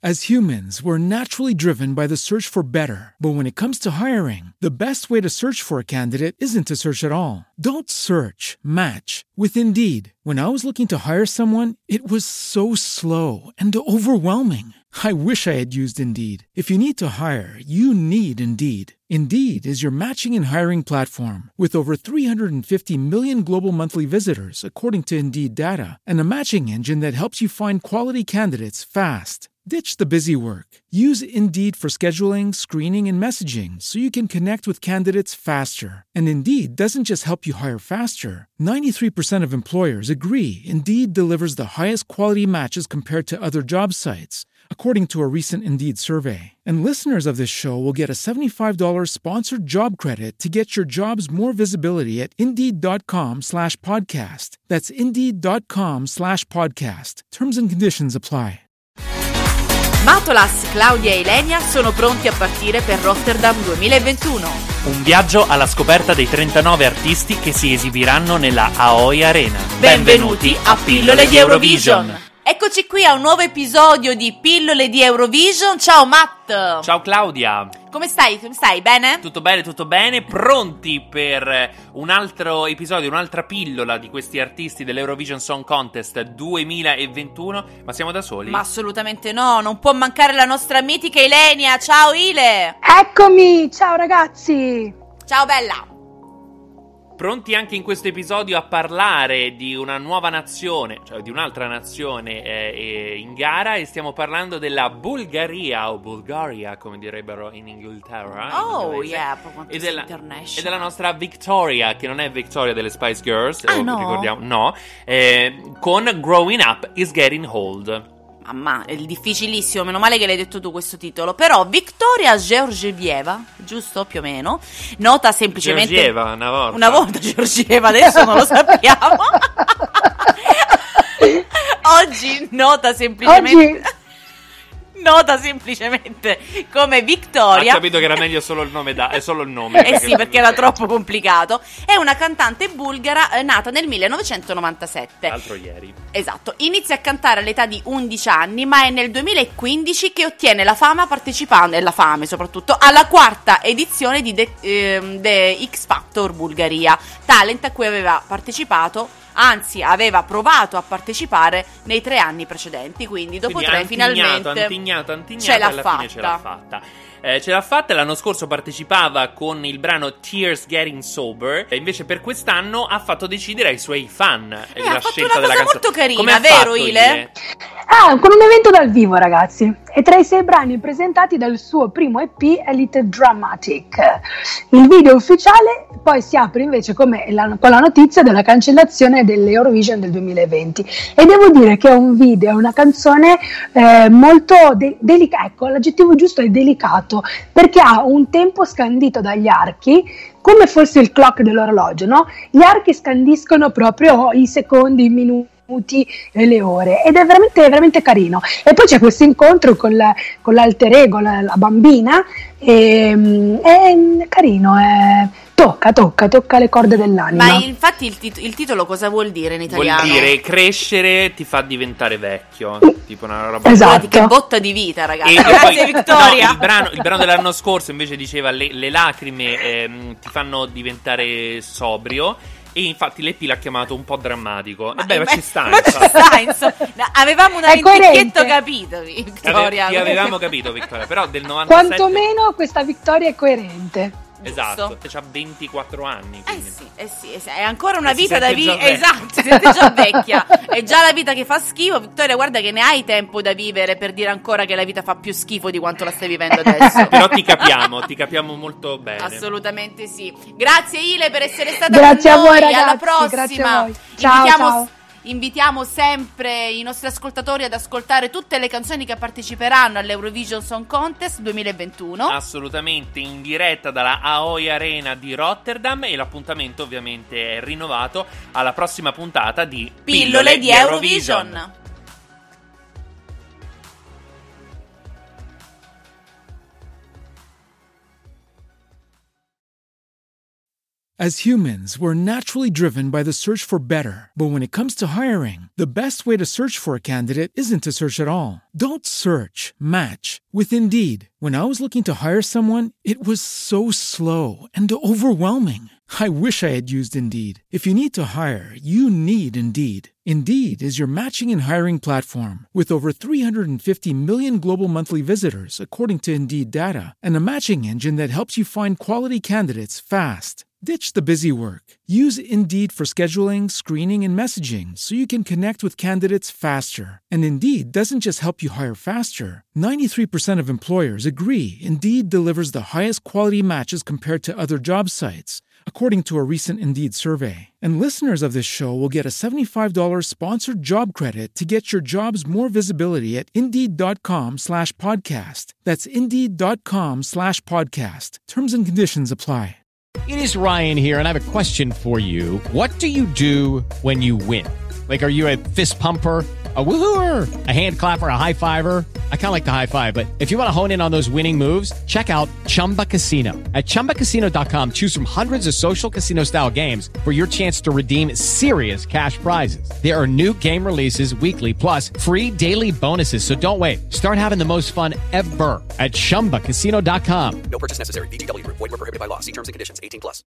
As humans, we're naturally driven by the search for better. But when it comes to hiring, the best way to search for a candidate isn't to search at all. Don't search, match with Indeed. When I was looking to hire someone, it was so slow and overwhelming. I wish I had used Indeed. If you need to hire, you need Indeed. Indeed is your matching and hiring platform with over 350 million global monthly visitors, according to Indeed data, and a matching engine that helps you find quality candidates fast. Ditch the busy work. Use Indeed for scheduling, screening, and messaging so you can connect with candidates faster. And Indeed doesn't just help you hire faster. 93% of employers agree Indeed delivers the highest quality matches compared to other job sites, according to a recent Indeed survey. And listeners of this show will get a $75 sponsored job credit to get your jobs more visibility at Indeed.com/podcast. That's Indeed.com/podcast. Terms and conditions apply. Matolas, Claudia e Ilenia sono pronti a partire per Rotterdam 2021. Un viaggio alla scoperta dei 39 artisti che si esibiranno nella Aoi Arena. Benvenuti a Pillole di Eurovision. Eccoci qui a un nuovo episodio di Pillole di Eurovision. Ciao Matt. Ciao Claudia. Come stai? Come stai? Bene? Tutto bene, pronti per un altro episodio, un'altra pillola di questi artisti dell'Eurovision Song Contest 2021. Ma siamo da soli? Ma assolutamente no, non può mancare la nostra mitica Ilenia. Ciao Ile. Eccomi, ciao ragazzi. Ciao bella. Pronti anche in questo episodio a parlare di una nuova nazione, cioè di un'altra nazione in gara, e stiamo parlando della Bulgaria, o Bulgaria come direbbero in Inghilterra. Oh yeah, e della nostra Victoria, che non è Victoria delle Spice Girls, no? Ricordiamo, no, con Growing Up is Getting Old. Mamma, è difficilissimo, meno male che l'hai detto tu questo titolo. Però Victoria Georgieva, giusto più o meno, nota semplicemente Georgieva, una volta Georgieva, adesso non lo sappiamo. Oggi nota semplicemente come Victoria. Ha capito che era meglio solo il nome, è solo il nome. Sì, perché era troppo complicato. È una cantante bulgara nata nel 1997. L'altro ieri. Esatto. Inizia a cantare all'età di 11 anni, ma è nel 2015 che ottiene la fama partecipando, e la fame soprattutto, alla quarta edizione di The X Factor Bulgaria, talent a cui aveva partecipato. Anzi, aveva provato a partecipare nei 3 anni precedenti, quindi dopo 3 finalmente ce l'ha fatta. Ce l'ha fatta, l'anno scorso partecipava con il brano Tears Getting Sober, e invece per quest'anno ha fatto decidere ai suoi fan la scelta della canzone. È molto carina, vero Ile? Con un evento dal vivo, ragazzi. È tra i 6 brani presentati dal suo primo EP Elite Dramatic. Il video ufficiale poi si apre invece con la notizia della cancellazione dell'Eurovision del 2020. E devo dire che è un video, è una canzone molto delicata, ecco, l'aggettivo giusto è delicato, perché ha un tempo scandito dagli archi, come fosse il clock dell'orologio, no? Gli archi scandiscono proprio i secondi, i minuti e le ore, ed è veramente, veramente carino. E poi c'è questo incontro con l'alter ego, la bambina, è carino, tocca le corde dell'anima. Ma infatti il titolo cosa vuol dire in italiano? Vuol dire crescere ti fa diventare vecchio, tipo una roba. Esatto. Che botta di vita, ragazzi. Grazie Victoria. No, il brano dell'anno scorso invece diceva le lacrime ti fanno diventare sobrio. E infatti l'EP l'ha chiamato un po' drammatico. Ma ci sta, insomma. Avevamo un picchietto capito, Victoria. Ti avevamo capito, Victoria. Però del 97. Quantomeno questa vittoria è coerente. Esatto, c'ha 24 anni. Sì, è ancora una vita da vivere. Esatto, siete già vecchia. È già la vita che fa schifo. Victoria, guarda che ne hai tempo da vivere per dire ancora che la vita fa più schifo di quanto la stai vivendo adesso. Però ti capiamo molto bene. Assolutamente sì. Grazie Ile per essere stata grazie con noi. A voi, ragazzi, alla prossima. Grazie a voi. Ciao. Invitiamo sempre i nostri ascoltatori ad ascoltare tutte le canzoni che parteciperanno all'Eurovision Song Contest 2021. Assolutamente, in diretta dalla Aoi Arena di Rotterdam, e l'appuntamento ovviamente è rinnovato alla prossima puntata di Pillole di Eurovision. As humans, we're naturally driven by the search for better. But when it comes to hiring, the best way to search for a candidate isn't to search at all. Don't search, match with Indeed. When I was looking to hire someone, it was so slow and overwhelming. I wish I had used Indeed. If you need to hire, you need Indeed. Indeed is your matching and hiring platform with over 350 million global monthly visitors, according to Indeed data, and a matching engine that helps you find quality candidates fast. Ditch the busy work. Use Indeed for scheduling, screening, and messaging so you can connect with candidates faster. And Indeed doesn't just help you hire faster. 93% of employers agree Indeed delivers the highest quality matches compared to other job sites, according to a recent Indeed survey. And listeners of this show will get a $75 sponsored job credit to get your jobs more visibility at Indeed.com/podcast. That's Indeed.com/podcast. Terms and conditions apply. It is Ryan here, and I have a question for you. What do you do when you win? Like, are you a fist pumper, a woohooer, a hand clapper, a high fiver? I kind of like the high five, but if you want to hone in on those winning moves, check out Chumba Casino. At ChumbaCasino.com, choose from hundreds of social casino-style games for your chance to redeem serious cash prizes. There are new game releases weekly, plus free daily bonuses. So don't wait. Start having the most fun ever at ChumbaCasino.com. No purchase necessary. VGW Group. Void where prohibited by law. See terms and conditions. 18+.